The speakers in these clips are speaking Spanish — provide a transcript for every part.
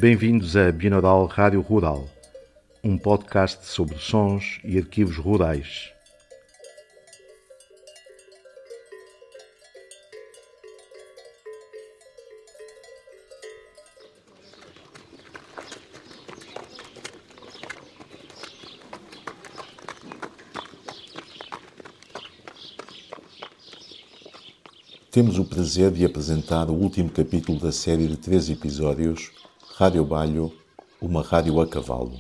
Bem-vindos a Binaural Rádio Rural, um podcast sobre sons e arquivos rurais. Temos o prazer de apresentar o último capítulo da série de 3 episódios, Rádio Balho, uma rádio a cavalo.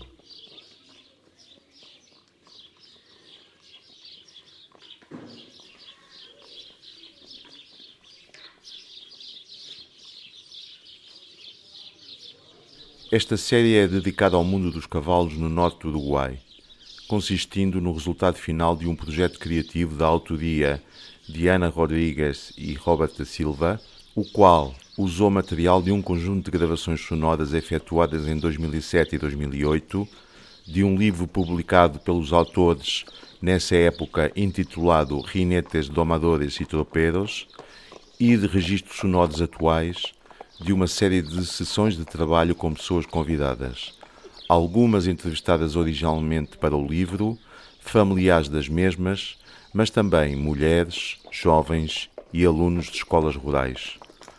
Esta série é dedicada ao mundo dos cavalos no norte do Uruguai, consistindo no resultado final de um projeto criativo da autoria de Ana Rodrigues e Robert da Silva, o qual usou material de um conjunto de gravações sonoras efetuadas em 2007 e 2008, de um livro publicado pelos autores nessa época intitulado Rinetes Domadores e Tropeiros e de registros sonoros atuais de uma série de sessões de trabalho com pessoas convidadas, algumas entrevistadas originalmente para o livro, familiares das mesmas, mas também mulheres, jovens e alunos de escolas rurais.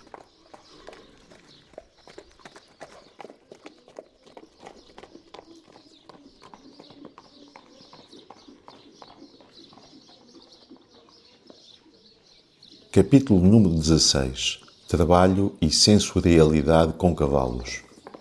Capítulo número 16. Trabalho e sensorialidade com cavalos.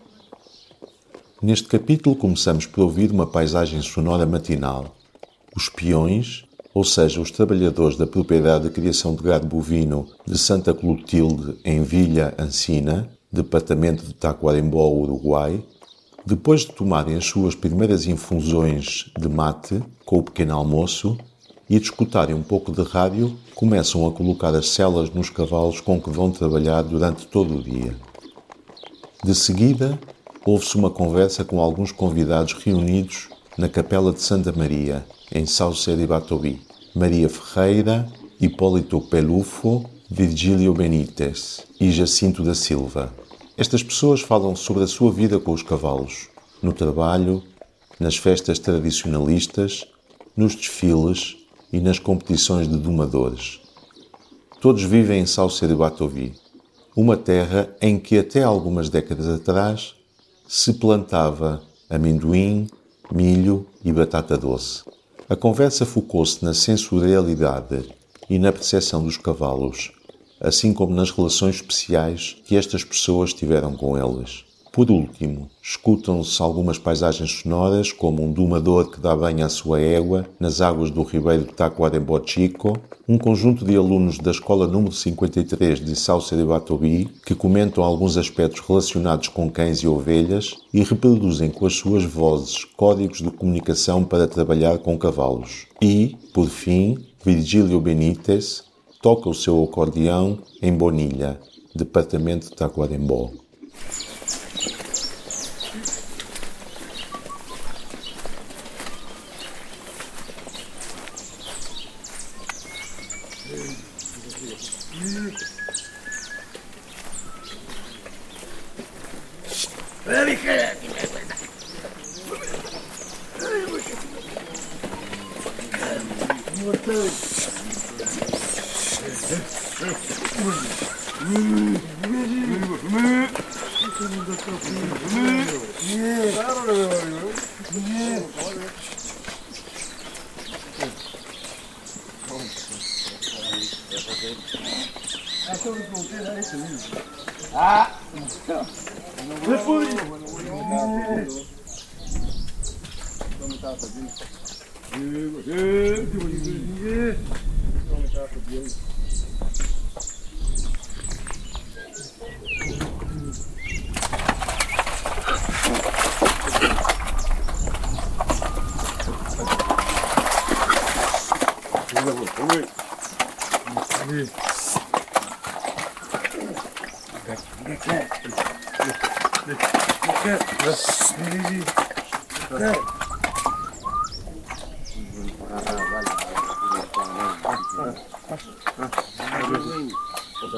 Neste capítulo começamos por ouvir uma paisagem sonora matinal. Os peões, ou seja, os trabalhadores da propriedade de criação de gado bovino de Santa Clotilde, em Vila Ancina, departamento de Tacuarembó, Uruguai, depois de tomarem as suas primeiras infusões de mate com o pequeno almoço e de escutarem um pouco de rádio, começam a colocar as selas nos cavalos com que vão trabalhar durante todo o dia. De seguida, ouve-se uma conversa com alguns convidados reunidos na Capela de Santa Maria, em Saucer e Batobi: Maria Ferreira, Hipólito Pelufo, Virgílio Benítez e Jacinto da Silva. Estas pessoas falam sobre a sua vida com os cavalos, no trabalho, nas festas tradicionalistas, nos desfiles e nas competições de domadores. Todos vivem em Saucer e Batobi, uma terra em que até algumas décadas atrás se plantava amendoim, milho e batata doce. A conversa focou-se na sensorialidade e na percepção dos cavalos, assim como nas relações especiais que estas pessoas tiveram com eles. Por último, escutam-se algumas paisagens sonoras, como um domador que dá banho à sua égua nas águas do ribeiro de Tacuarembó Chico, um conjunto de alunos da escola número 53 de Saucer e Batobi que comentam alguns aspectos relacionados com cães e ovelhas e reproduzem com as suas vozes códigos de comunicação para trabalhar com cavalos. E, por fim, Virgílio Benítez toca o seu acordeão em Bonilha, departamento de Tacuarembó.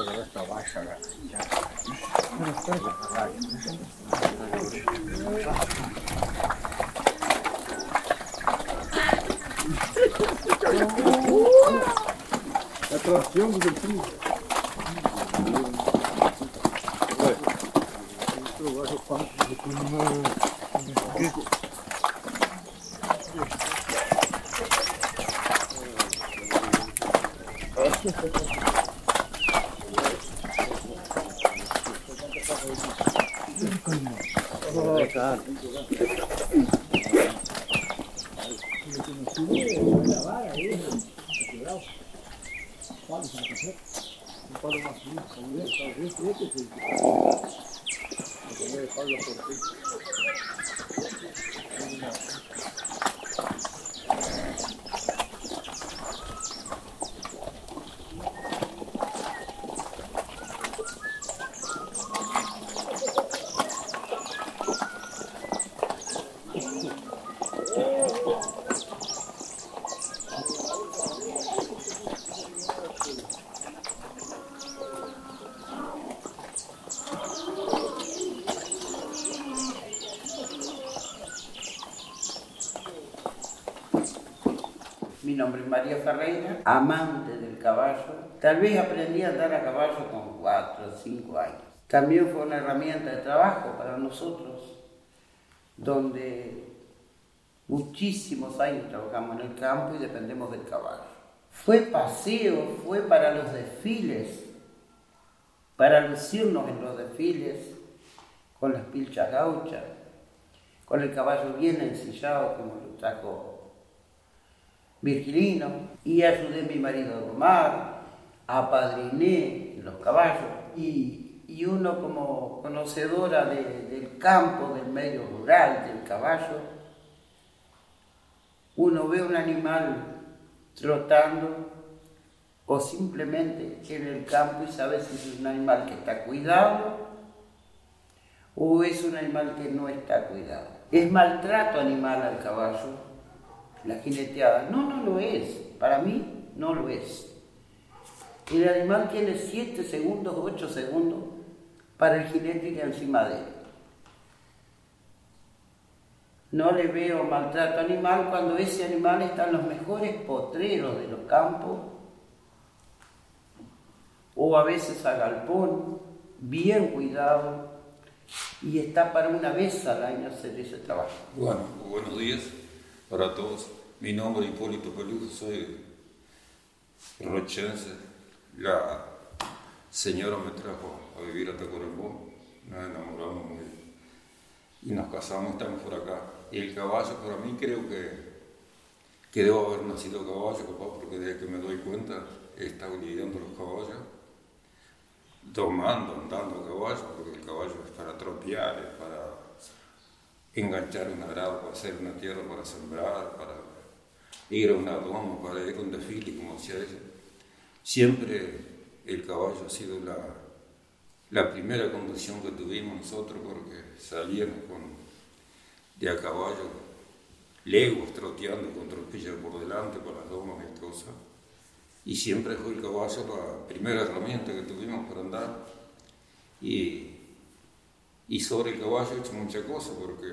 Mi nombre es María Ferreira, amante del caballo. Tal vez aprendí a andar a caballo con 4 o 5 años. También fue una herramienta de trabajo para nosotros, donde muchísimos años trabajamos en el campo y dependemos del caballo. Fue paseo, fue para los desfiles, para lucirnos en los desfiles, con las pilchas gauchas, con el caballo bien ensillado como lo trajo Virgilino, y ayudé a mi marido a domar, apadriné los caballos, y uno como conocedora del campo, del medio rural, del caballo, uno ve un animal trotando o simplemente en el campo y sabe si es un animal que está cuidado o es un animal que no está cuidado. ¿Es maltrato animal al caballo? La jineteada. No, no lo es. Para mí, no lo es. El animal tiene 7 segundos, 8 segundos para el jinete ir encima de él. No le veo maltrato animal cuando ese animal está en los mejores potreros de los campos o a veces a galpón, bien cuidado, y está para una vez al año hacer ese trabajo. Bueno, buenos días para todos. Mi nombre es Hipólito Peluso, soy rochense. La señora me trajo a vivir a Tacuarembó, nos enamoramos muy bien y nos casamos, estamos por acá. Y el caballo, para mí, creo que debo haber nacido caballo, papá, porque desde que me doy cuenta he estado lidiando los caballos, domando, andando a caballo, porque el caballo es para tropear, es para enganchar un arado, para hacer una tierra, para sembrar, para ir a una doma, para ir a un desfile, como decía ella. Siempre el caballo ha sido la primera conducción que tuvimos nosotros, porque salíamos de a caballo, leguas troteando con tropillas por delante, por las domas y cosas. Y siempre fue el caballo la primera herramienta que tuvimos para andar. Y sobre el caballo he hecho muchas cosas, porque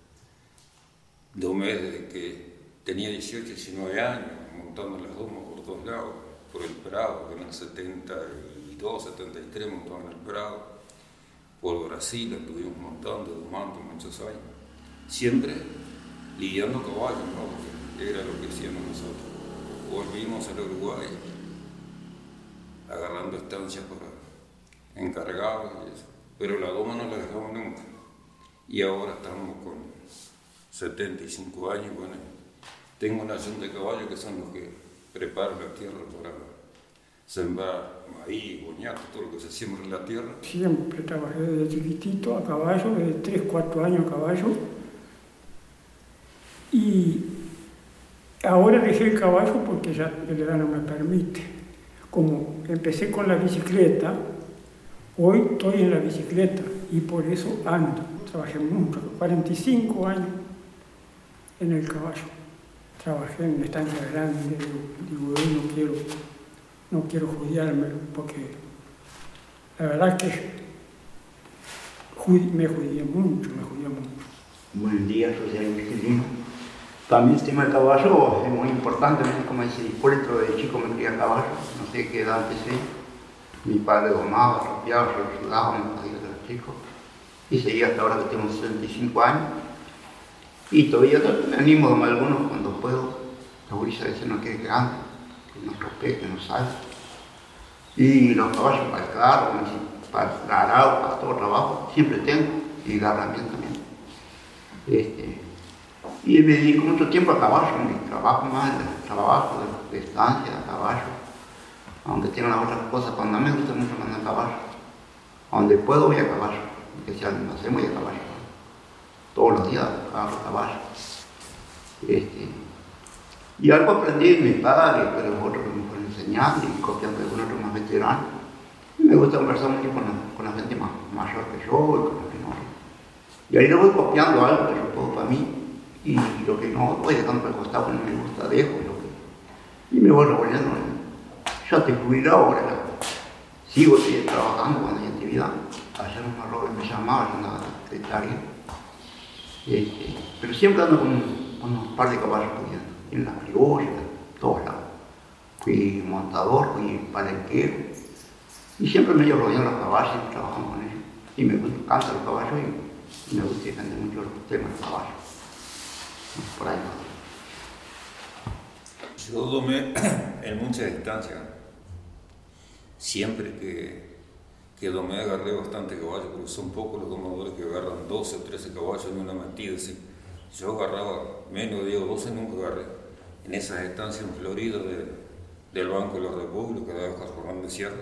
domé desde que tenía 18, 19 años, montando las domas por todos lados, por el Prado, en el 72, 73 montaba en el Prado, por Brasil estuvimos montando, domando muchos años. Siempre lidiando caballos, ¿no? Porque era lo que hacíamos nosotros. Volvimos al Uruguay, agarrando estancias para encargados y eso. Pero la doma no la dejamos nunca. Y ahora estamos con 75 años, bueno, tengo una acción de caballos que son los que preparan la tierra para sembrar maíz, boñato, todo lo que se siembra en la tierra. Siempre trabajé desde chiquitito a caballo, desde 3, 4 años a caballo. Y ahora dejé el caballo porque ya la edad no me permite. Como empecé con la bicicleta, hoy estoy en la bicicleta y por eso ando. Trabajé mucho, 45 años en el caballo. Trabajé en una estancia grande, digo, no quiero judiarme porque La verdad que me jodía mucho. Buen día, soy el Miguelino. También el tema del caballo es muy importante, como dice Hipólito, de chico me crié a caballo, no sé qué edad empecé. Mi padre domaba, rapeaba, yo ayudaba, me hacía de los chicos. Y seguí hasta ahora que tengo 65 años. Y todavía me animo a domar algunos cuando puedo. La gurisa dice no quede grande, que nos respete, nos salve. Y los caballos para el carro, para el arado, para todo trabajo, siempre tengo. Y la herramienta también. Y me dedico mucho tiempo a caballo, mi trabajo más, el trabajo de estancia, a caballo. Aunque tengo las otras cosas, cuando me gusta mucho andar a caballo. A donde puedo voy a caballo, aunque sea no sé, voy a caballo. Todos los días a caballo. Y algo aprendí de mis padres, pero otros que me fueron enseñando y copiando de algunos otros más veteranos. Y me gusta conversar mucho con la gente más mayor que yo y con los menores. Y ahí lo voy copiando algo que yo puedo para mí. Y lo que no voy dejando por el costado, no me gusta, dejo. Y me voy revolviendo. Ya estoy jubilado ahora. Sigo trabajando cuando hay actividad. Ayer un Robert me llamaba, yo andaba de secretaria. Pero siempre ando con unos par de caballos cuidando. En las criollas, en todos lados. Fui montador, fui palenquero. Y siempre me llevo rodeando los caballos y trabajando con ellos. Y me encantan los caballos y me gusta defender mucho los temas de caballos. Por ahí. Yo domé en muchas distancias. Siempre que domé agarré bastante caballos, porque son pocos los domadores que agarran 12 o 13 caballos en una metida. Así. Yo agarraba menos de 10 o 12, nunca agarré. En esas estancias en Florida del Banco de la República, de Jornal de Sierra.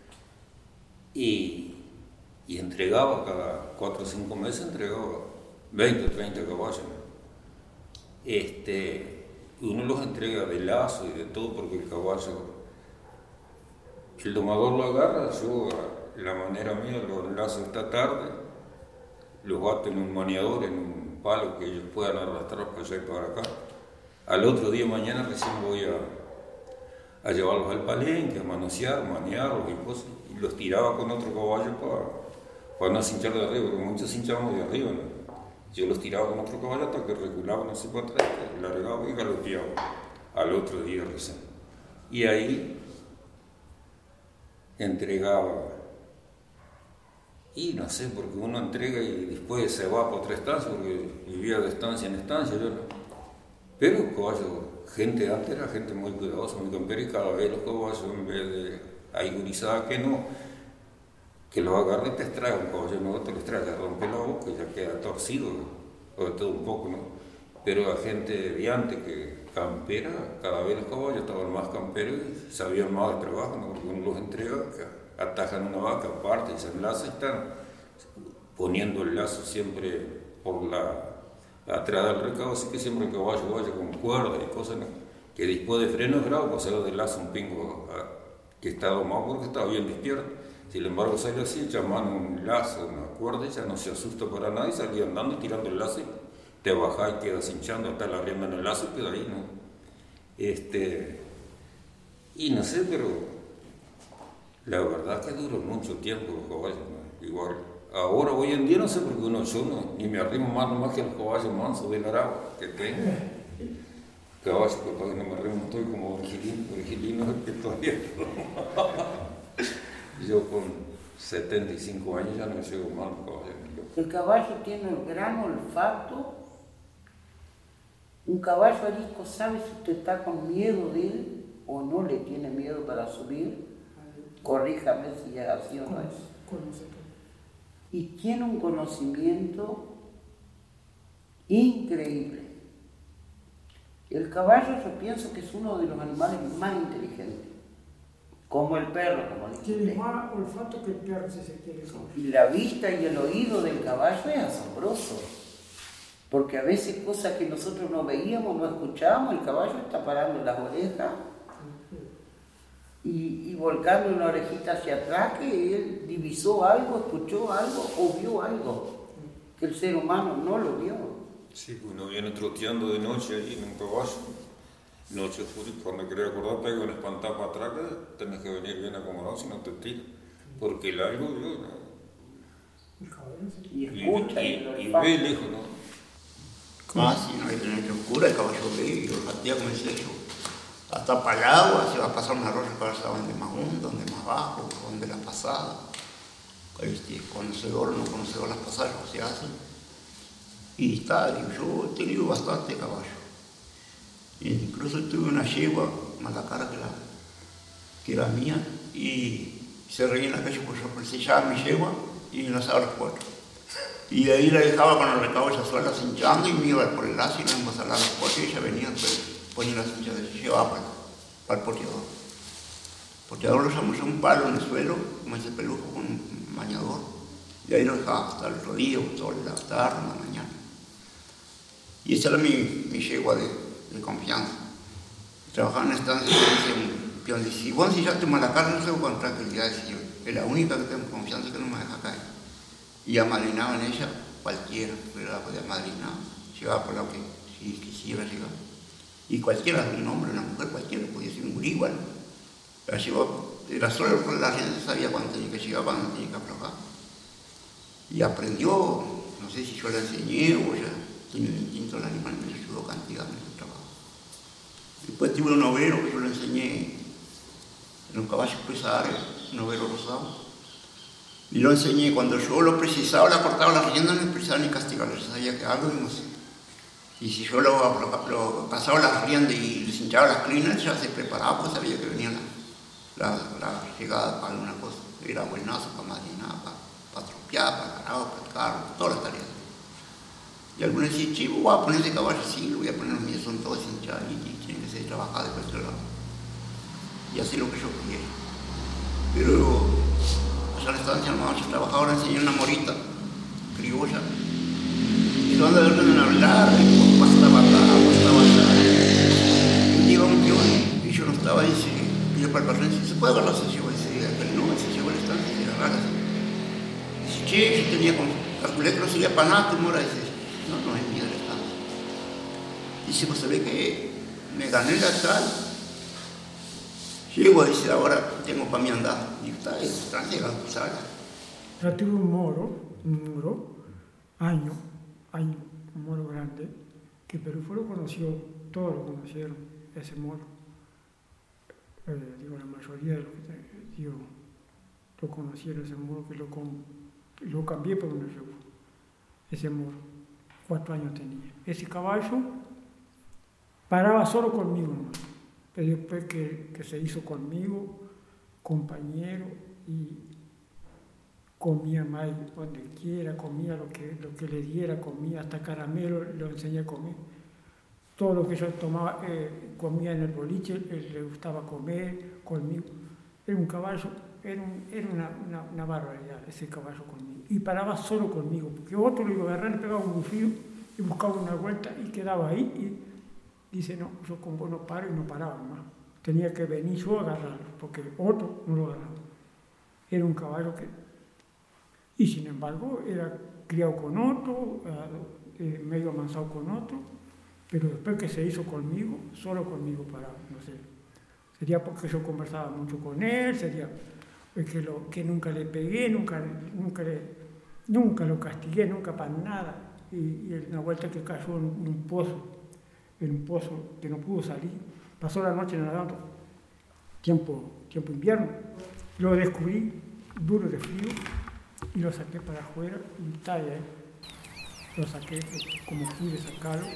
Y entregaba cada 4 o 5 meses, entregaba 20 o 30 caballos. Uno los entrega de lazo y de todo porque el caballo, el domador lo agarra, yo la manera mía lo enlazo esta tarde, los bato en un maniador, en un palo que ellos puedan arrastrar para allá y para acá. Al otro día mañana recién voy a llevarlos al palenque, a manosear, manearlos y cosas, y los tiraba con otro caballo para no se hinchar de arriba, porque muchos se hinchaban de arriba, ¿no? Yo los tiraba con otro caballo hasta que regulaban así para atrás, largaba y galopeaba al otro día recién. Y ahí entregaba. Y no sé, porque uno entrega y después se va para otra estancia, porque vivía de estancia en estancia, yo no. Pero caballos, gente antes era gente muy cuidadosa, muy campera, y cada vez los caballos, en vez de hay gurizada que los agarra y te extrae un caballo nuevo, te lo extrae, le rompe la boca y ya queda torcido, o de todo un poco, ¿no? Pero la gente de antes que campera, cada vez los caballos estaban más camperos y sabían más de trabajo, ¿no? Porque uno los entrega, atajan una vaca, parte y se enlaza y están poniendo el lazo siempre por atrás del recado, así que siempre el caballo vaya con cuerda y cosas, ¿no? Que después de freno es bravo, pasar del lazo un pingo que está domado porque estaba bien despierto. Sin embargo, sale así, llaman un lazo, una cuerda, y ya no se asusta para nada y salía andando tirando el lazo y te bajás y quedas hinchando hasta la rienda en el lazo y queda ahí, ¿no? Y no sé, pero la verdad que duró mucho tiempo los caballos, ¿no? Igual. Ahora, hoy en día, no sé por qué ni me arrimo más que los caballos mansos del Aragua que tengo. Caballos, que para que no me arrimo, estoy como Virgilino que todavía yo con 75 años ya no me llevo mal los caballos. El caballo tiene el gran olfato. Un caballo arisco sabe si usted está con miedo de él o no le tiene miedo para subir. Corríjame si es así o no es. Y tiene un conocimiento increíble. El caballo yo pienso que es uno de los animales más inteligentes, como el perro, como dice usted. Tiene más olfato que el perro, si se quiere. Y la vista y el oído del caballo es asombroso, porque a veces cosas que nosotros no veíamos, no escuchábamos, el caballo está parando las orejas y volcando una orejita hacia atrás, que él divisó algo, escuchó algo o vio algo que el ser humano no lo vio. Sí, uno viene troteando de noche ahí en un caballo, noche oscura, y cuando querés acordar pega un espantado para atrás, tenés que venir bien acomodado si no te tira. porque el algo yo, ¿no? Y escucha y ve lejos, ¿no? Casi, no hay que tener oscura, el caballo ve y lo patea como ese hecho. Hasta para el agua, si va a pasar una rosa, el caballo sabe dónde más hondo, dónde más bajo, dónde la pasada. Conocedor, no conocedor, las pasadas se hacen. Y está, digo, yo he tenido bastante caballo. Incluso tuve una yegua, más la cara que era mía, y se reía en la calle porque yo se echaba mi yegua y me lanzaba los cuatro. Y de ahí la dejaba con el recabo ella sola cinchando y me iba por el lazo y nos íbamos a hablar los cuatro y ella venía, pues ponía la cincha de llevaba para el porteador. El porteador lo llamó un palo en el suelo, como ese pelujo con un bañador, y ahí lo dejaba hasta el rodillo, toda la tarde, en la mañana. Y esa era mi yegua de confianza. Trabajaba en la estancia y decía un peón, dice, si vos ensillaste mal la carne, no sé con tranquilidad, decía, es la única que tengo confianza que no me deja caer. Y amadrinaba en ella cualquiera, pero la podía amadrinar, llegaba por lo que si quisiera llegar. Y cualquiera, un hombre, una mujer, cualquiera, podía ser un gurí igual. La llevó, era solo por la gente sabía cuándo tenía que llegar, cuándo tenía que aflojar. Y aprendió, no sé si yo la enseñé o ya tenía un instinto del animal, me ayudó cantidad en el trabajo. Después tuve un overo, yo le enseñé en un caballo pesadero, un overo rosado. Y lo enseñé, cuando yo lo precisaba, le cortaba las riendas, no precisaba ni castigarlo, yo sabía que algo íbamos a hacer. Y si yo lo pasaba las riendas y le cinchaba las clinas, ya se preparaba, pues sabía que venía la llegada para alguna cosa. Era buenazo para madrinar, para tropear, para cargar, para el carro, todas las tareas. Y algunos decían, chivo, voy a poner ese caballo, sí, lo voy a poner los míos, son todos cinchados y tienen que ser trabajados de cualquier lado. Y así lo que yo quería. Pero allá en la estancia nomás yo trabajaba, ahora enseñé una morita criolla. Y donde deben hablar, bastaba acá, bastaba allá. Y llega un peón y yo no estaba ahí, y yo para el patrón dice, ¿se puede agarrar ese chivo? Dice, no, ese chivo a la estancia, se agarra así. Dice, che, yo tenía como, calculé que no sería para nada tu mora, dice, no es mía de la estancia. Dice, pues se ve que me gané la tal. Llego, dice, ahora tengo para mí andar. Y está, es trasera, ¿sabes? Yo tuve un moro, un moro grande, que Perú lo conoció, todos lo conocieron, ese moro. La mayoría de los que lo conocieron, ese moro, que lo cambié por una yegua, ese moro, 4 años tenía. Ese caballo paraba solo conmigo nomás, pero después que se hizo conmigo, compañero, y comía más donde quiera, comía lo que le diera, comía hasta caramelo, lo enseñé a comer. Todo lo que yo tomaba, comía en el boliche, él le gustaba comer conmigo. Era un caballo, era una barbaridad ese caballo conmigo. Y paraba solo conmigo, porque otro lo iba a agarrar, le pegaba un bufío y buscaba una vuelta y quedaba ahí. Y dice, no, yo con vos no paro, y no paraba más. Tenía que venir yo a agarrarlo, porque otro no lo agarraba. Era un caballo que... Y sin embargo, era criado con otro, medio amansado con otro, pero después que se hizo conmigo, solo conmigo paraba, no sé. Sería porque yo conversaba mucho con él, sería que nunca le pegué, nunca lo castigué, nunca para nada. Y una vuelta que cayó en un pozo que no pudo salir, pasó la noche nadando, tiempo invierno, lo descubrí duro de frío y lo saqué para afuera y está ahí, lo saqué como pude sacarlo.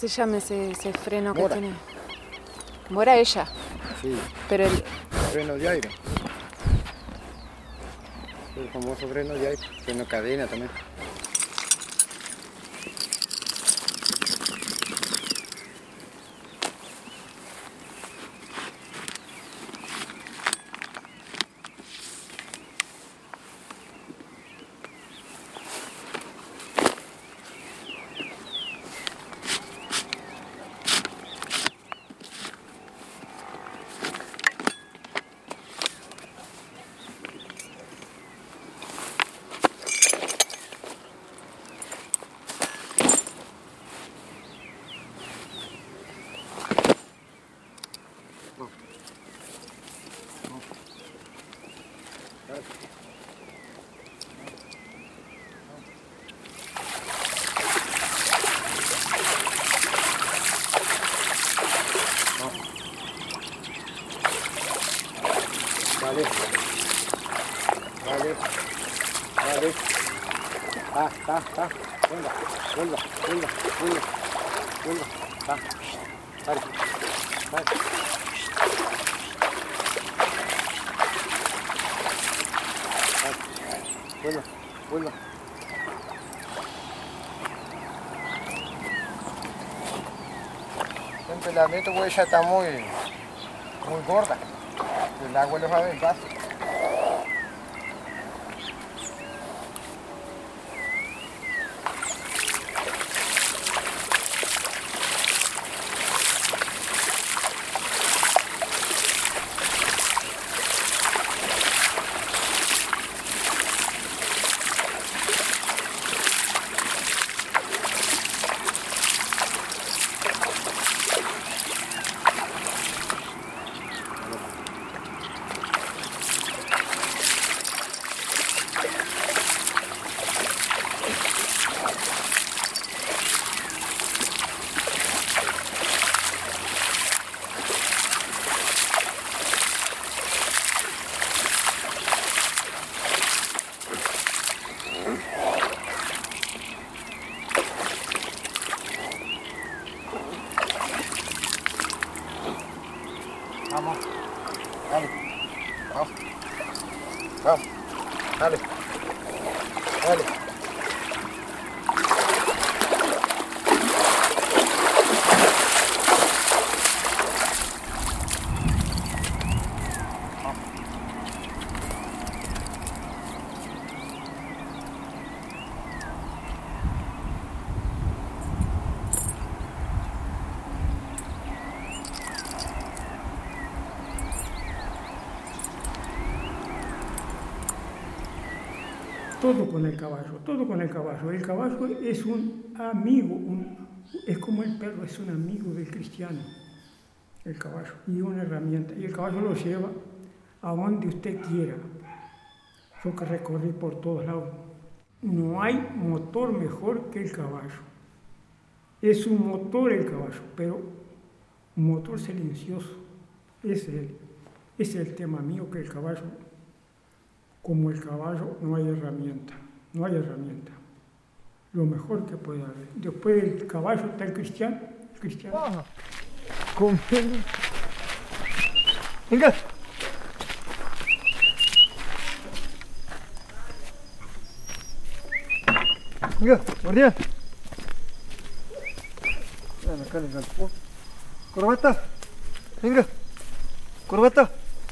se llama ese freno que tiene? Mora ella. Sí. Pero el Freno de aire. El famoso freno de aire. Freno cadena también. Vale. Vale. Vale. Está. Venga. Vuelva. Está. Vale. Vuelva. El pelamiento pues ya está muy gorda. El agua le va a venir fácil. Vamos. Dale. Vamos. Dale. Todo con el caballo. El caballo es un amigo, es como el perro, es un amigo del cristiano, el caballo, y una herramienta. Y el caballo lo lleva a donde usted quiera. Yo que recorrí por todos lados. No hay motor mejor que el caballo. Es un motor el caballo, pero un motor silencioso. Ese es el tema mío, que el caballo, como el caballo, no hay herramienta. Lo mejor que puede haber. Después del caballo está el cristiano. Vamos. Conmigo. Venga. Venga, guardián. Ven acá, le galpó. Corbata. Venga. Corbata.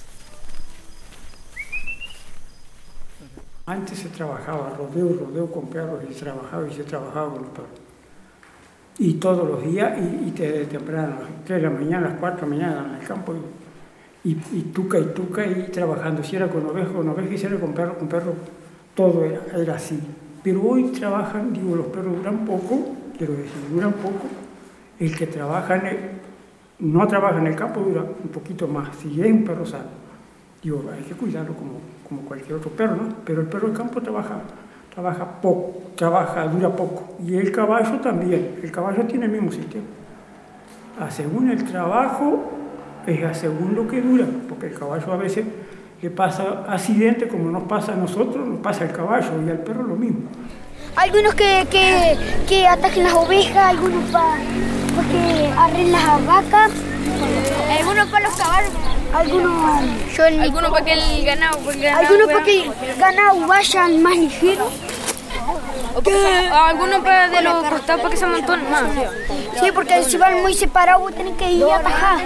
Antes se trabajaba rodeo con perros, y se trabajaba con los perros. Y todos los días, y desde temprano, a las 3 de la mañana, a las 4 de la mañana en el campo, y tuca, y trabajando. Si era con oveja, y si era con perro, todo era así. Pero hoy trabajan, los perros duran poco, duran poco. El que no trabaja en el campo dura un poquito más, si es un perro sano. Hay que cuidarlo como cualquier otro perro, ¿no? Pero el perro del campo trabaja poco, dura poco. Y el caballo también, el caballo tiene el mismo sistema. Según el trabajo, es según lo que dura, porque el caballo a veces le pasa accidente, como nos pasa a nosotros, nos pasa al caballo, y al perro lo mismo. Algunos que atacan las ovejas, algunos porque arren las vacas. Algunos para los caballos. Algunos para que el ganado. Algunos para que el ganado vaya más ligero. Algunos para de los costados para que se amontonen más. Sí, porque si van muy separados vos tenés que ir a atajar.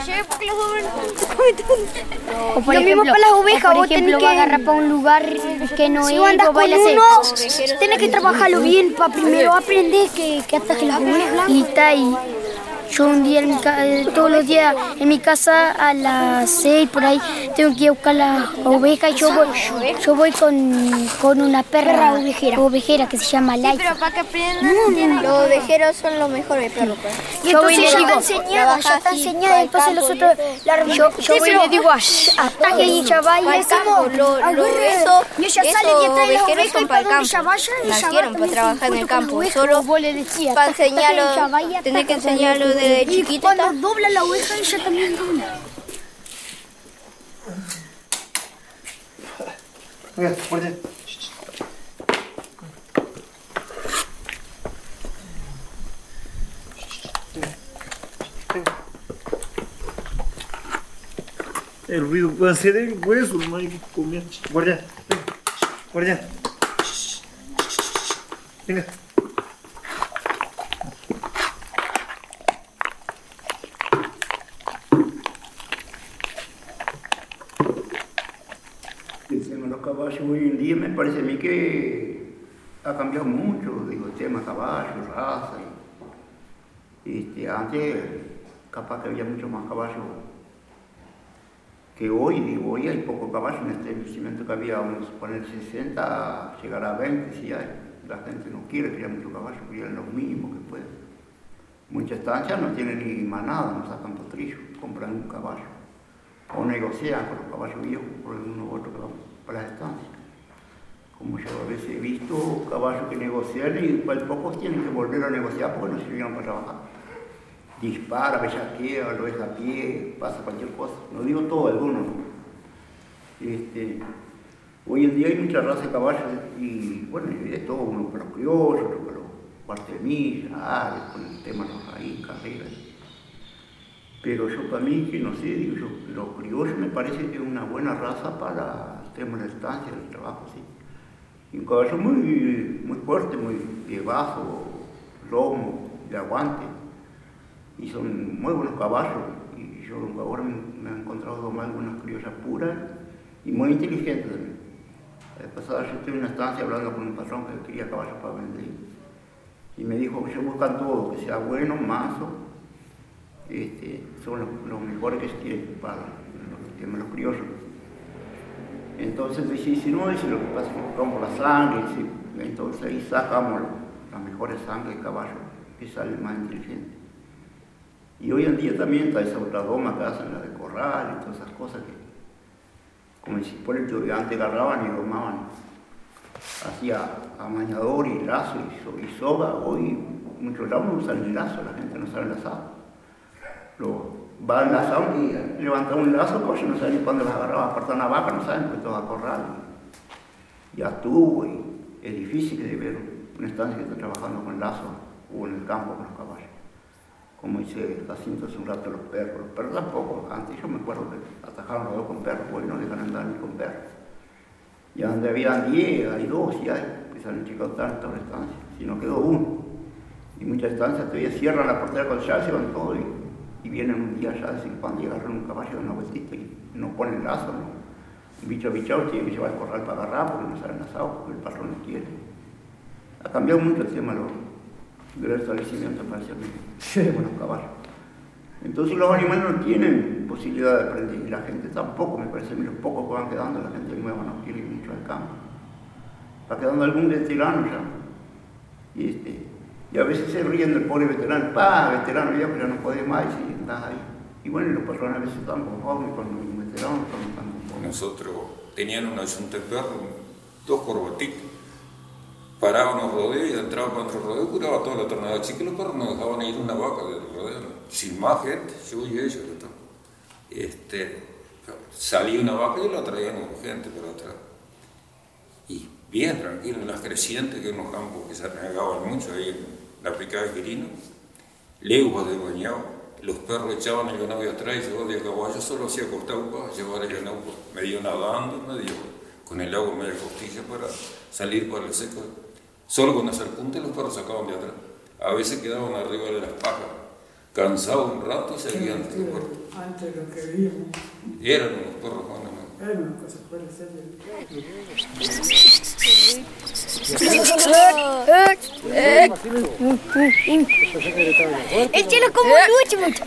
Lo mismo para las ovejas, vos tenés que agarrar para un lugar que no si es. vos andás con uno, tenés que trabajarlo bien para primero aprender que ataje las ovejas. Y está ahí. Yo un día, todos los días en mi casa a las 6 por ahí, tengo que ir a buscar las ovejas y yo voy con una perra ovejera que se llama Laika. Pero para que aprendan, los ovejeros son los mejores perros. Y entonces ya está enseñada, entonces nosotros yo voy y le digo ataque y ella va y le decimos y ella sale y trae las ovejas y para donde ella vaya nacieron para trabajar en el campo, solo vos le decías para enseñarlo, tenés que enseñarlo desde chiquito. Y cuando dobla la oveja ella también dobla. El ruido puede ser el hueso, no hay que comer. Guardia, venga, guardia. Venga. Los caballos hoy en día me parece a mí que ha cambiado mucho, digo, el tema caballos, raza. Antes capaz que había mucho más caballos que hoy, digo, hoy hay pocos caballos en este establecimiento que había, vamos a poner 60, llegar a 20, si hay. La gente no quiere criar muchos caballos, crían los mínimos que pueden. Muchas estancias no tienen ni manada, no sacan potrillos, compran un caballo. O negocian con los caballos viejos por uno u otro que van para las estancias. Como yo a veces he visto caballos que negocian y pocos tienen que volver a negociar porque no sirvieron para trabajar. Dispara, bellaquea, lo deja a pie, pasa cualquier cosa. No digo todo, algunos. Hoy en día hay mucha raza de caballos y bueno, hay de todo, uno para los criollos, otro para los cuartemillas, con el tema de los raíces, carreras. Pero yo para mí, que no sé, digo yo, los criollos me parece que es una buena raza para el tema de la estancia, del trabajo, sí. Y un caballo muy fuerte, muy de bajo, lomo, de aguante. Y son muy buenos caballos. Y yo ahora me he encontrado domar algunas criollas puras y muy inteligentes también. La vez pasada yo estuve en una estancia hablando con un patrón que quería caballos para vender. Y me dijo que ellos buscan todo, que sea bueno, manso. Son los mejores que tienen para los criollos. Entonces dice, si no, dice, lo que pasa es que buscamos la sangre, dice, entonces ahí sacamos la mejor sangre de caballo, que sale más inteligente. Y hoy en día también está esa otra doma que hacen, la de corral y todas esas cosas que, como si por el que antes agarraban y domaban, hacía amañador y lazo y soga. Hoy muchos lados no usan el lazo, la gente no sabe el lazado. Va al lazado y levanta un lazo, pues no saben ni cuándo las agarraba, apartar una vaca, no saben, pues todo a corral. Ya estuvo y es difícil de ver una estancia que está trabajando con lazo o en el campo con los caballos. Como dice Jacinto hace un rato, los perros tampoco. Antes yo me acuerdo que atajaron los dos con perros, hoy no dejan andar ni con perros. Ya donde había 10, hay 2 y hay, que se han achicado tanto la estancia, si no quedó uno. Y muchas estancias todavía cierran la portera con llave, se van todos y vienen un día ya de vez en cuando y agarran un caballo de una vueltita y no ponen lazo, ¿no? Un bicho bichado tiene que llevar al corral para agarrar porque no salen asados, porque el patrón no quiere. Ha cambiado mucho el tema del establecimiento, parece a mí, de los caballos. Entonces los animales no tienen posibilidad de aprender y la gente tampoco, me parece a mí, los pocos que van quedando, la gente nueva no quiere ir mucho al campo. Va quedando algún veterano ya. Y a veces se ríen del pobre veterano, veterano viejo, ya no puede más y estás ahí. Y bueno, los patrones a veces están conformes con los veteranos, no están conformes. Nosotros tenían una yunta de perros, 2 corbatitos. Paraban los rodeos y entraban para otro rodeo, curaba toda la tornada chica y los perros no dejaban ir una vaca del rodeo, ¿no? Sin más gente, yo y ellos. Salía una vaca y la traían gente por atrás. Y bien tranquilo, en las crecientes, que en los campos que se regaban mucho ahí en la picada de Quirino. leguas de bañado, los perros echaban el ganado de atrás y yo de caballo solo hacía acostado para llevar el ganado medio nadando, medio con el agua media costilla para salir para el seco. Solo con hacer punta los perros sacaban de atrás. A veces quedaban arriba de las pajas, cansados un rato, seguían. Antes lo que veíamos. Eran unos perros buenos, ¿no? Era una cosa fuera de serie. El cielo como lucha mucho.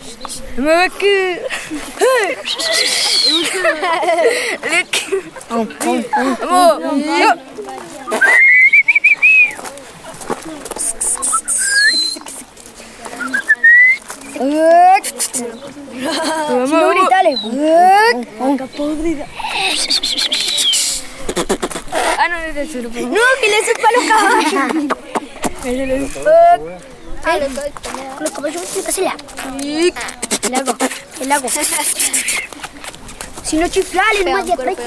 No gritale. Podrida. Ah, no, no, no, que le supa a los caballos. Los caballos tienen que hacerla. El agua. Si no chiflales, más de atrás.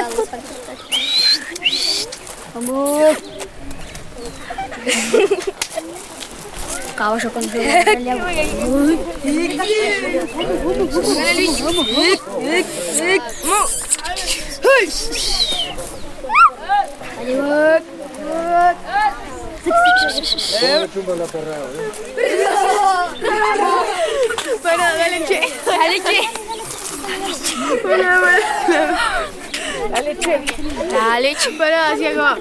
Vamos. Caballo con el agua. Bueno, dale, che. Dale, che, para, hacia acá.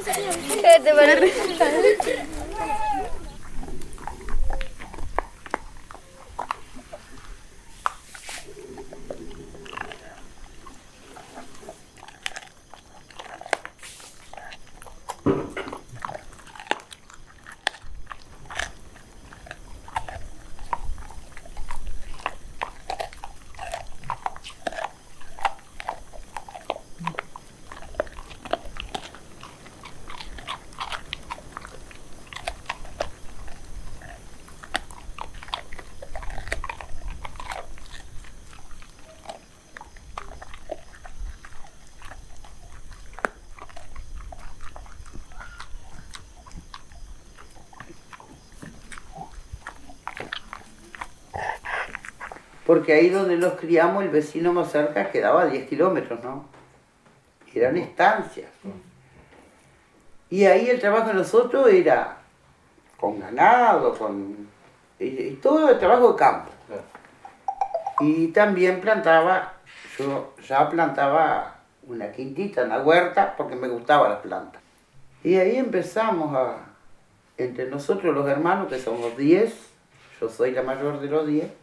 Porque ahí donde los criamos, el vecino más cerca quedaba a 10 kilómetros, ¿no? Eran estancias. Y ahí el trabajo de nosotros era con ganado, y todo el trabajo de campo. Y también yo ya plantaba una quintita, una huerta, porque me gustaban las plantas. Y ahí empezamos entre nosotros los hermanos, que somos 10, yo soy la mayor de los 10,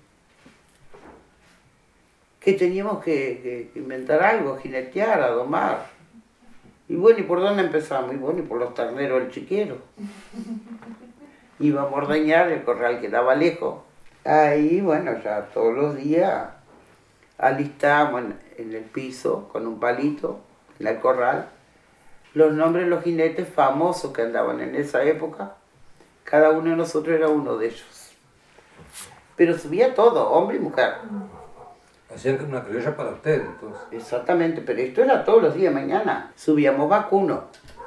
que teníamos que inventar algo, jinetear, a domar. Y bueno, ¿y por dónde empezamos? Y bueno, y por los terneros del chiquero. Íbamos a ordeñar, el corral quedaba lejos. Ahí, bueno, ya todos los días alistábamos en el piso, con un palito, en el corral, los nombres de los jinetes famosos que andaban en esa época. Cada uno de nosotros era uno de ellos. Pero subía todo, hombre y mujer. Hacían una criolla para ustedes, entonces. Exactamente, pero esto era todos los días de mañana. Subíamos vacuno.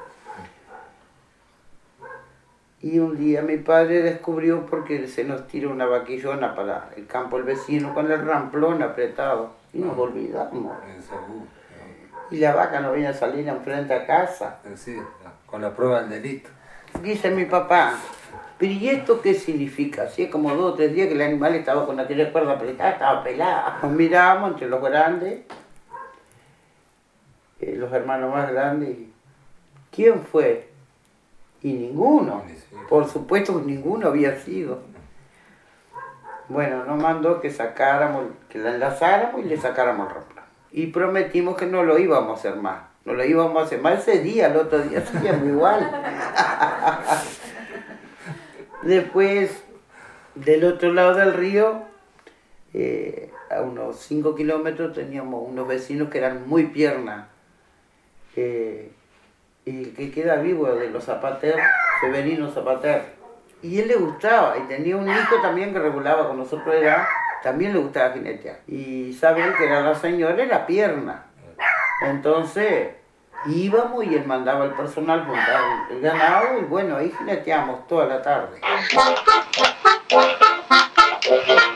Y un día mi padre descubrió, porque se nos tiró una vaquillona para el campo del vecino con el ramplón apretado. Y nos olvidamos. Y la vaca no venía a salir enfrente a casa. Sí, con la prueba del delito. Dice mi papá, ¿pero y esto qué significa? Si es como 2 o 3 días que el animal estaba con aquella cuerda apretada, estaba pelada. Nos mirábamos entre los grandes, los hermanos más grandes. ¿Quién fue? Y ninguno. Por supuesto que ninguno había sido. Bueno, nos mandó que la enlazáramos y le sacáramos el ramplón. Y prometimos que no lo íbamos a hacer más. No lo íbamos a hacer más ese día, el otro día hacíamos igual. Después, del otro lado del río, a unos 5 kilómetros, teníamos unos vecinos que eran muy piernas. Y el que queda vivo de los Zapater, Severino Zapater. Y él le gustaba, y tenía un hijo también que regulaba con nosotros de edad, también le gustaba jinetear. Y saben que era la señora, era pierna. Entonces íbamos y él mandaba al personal montar el ganado y bueno, ahí jineteamos toda la tarde.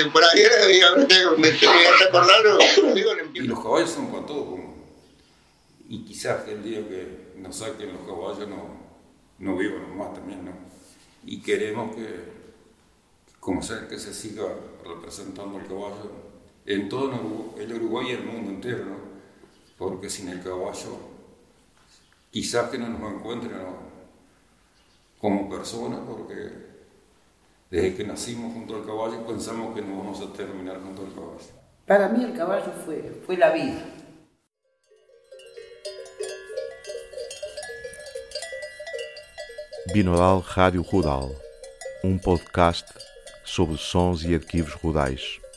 por ahí me estoy acordando, y los caballos son para todo. Y quizás el día que nos saquen los caballos no vivan más también, ¿no? Y queremos que, como sea, que se siga representando el caballo en todo el Uruguay y el mundo entero, ¿no? Porque sin el caballo, quizás que no nos encuentren, ¿no? Como personas, porque desde que nacimos junto al caballo pensamos que no vamos a terminar junto al caballo. Para mí el caballo fue la vida. Binaural Rádio Rural, podcast sobre sons e arquivos rurais.